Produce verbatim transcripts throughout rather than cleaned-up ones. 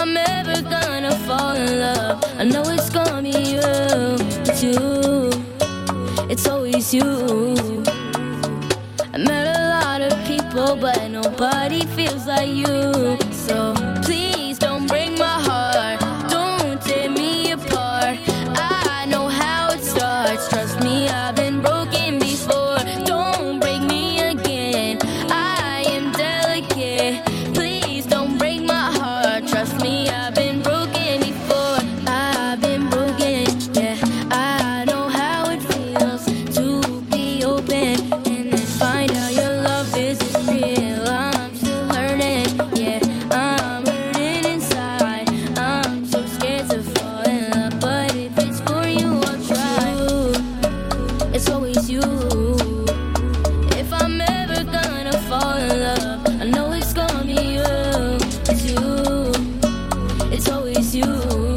I'm ever gonna fall in love, I know it's gonna be you. It's you, it's always you. I met a lot of people, but nobody feels like you. So please don't break my heart, don't tear me apart. I know how it starts, trust me, I've been broken before. Don't break me again, I am delicate. Please don't break my heart, trust me, I've been broken before. I've been broken, yeah. I know how it feels to be open and then find out your love isn't real. I'm still hurting, yeah. I'm hurting inside. I'm so scared to fall in love, but if it's for you, I'll try. It's always you. If I'm ever gonna fall in love, I know it's gonna be you. It's you, it's always you.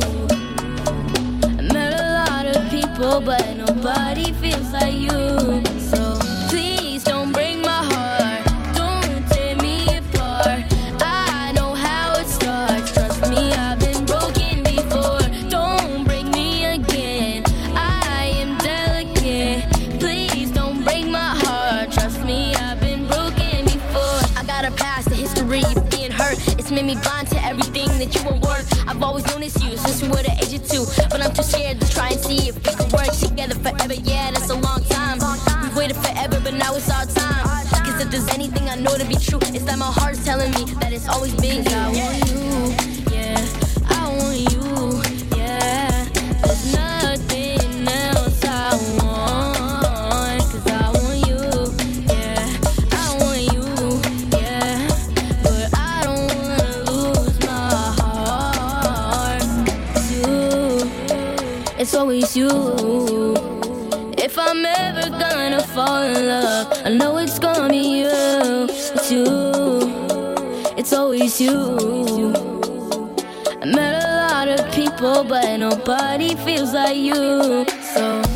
I met a lot of people, but nobody feels like you. So please don't break my heart, don't tear me apart. I know how it starts, trust me, I've been broken before. Don't break me again, I am delicate. Please don't break my heart, trust me, I've been broken before. I got a past, a history of being hurt. It's made me blind to everything that you were worth. I've always known it's you since we were the age of two, but I'm too scared to try and see if we could work together forever. Yeah, that's a long time. We've waited forever, but now it's our time. Cause if there's anything I know to be true, it's that my heart's telling me that it's always been you. I want you, yeah, I want you, yeah. There's nothing else I want. Cause I want you, yeah, I want you, yeah. But I don't wanna lose my heart. It's you, it's always you. If I'm ever gonna fall in love, I know it's gonna be you. It's you, it's always you. I met a lot of people, but nobody feels like you. So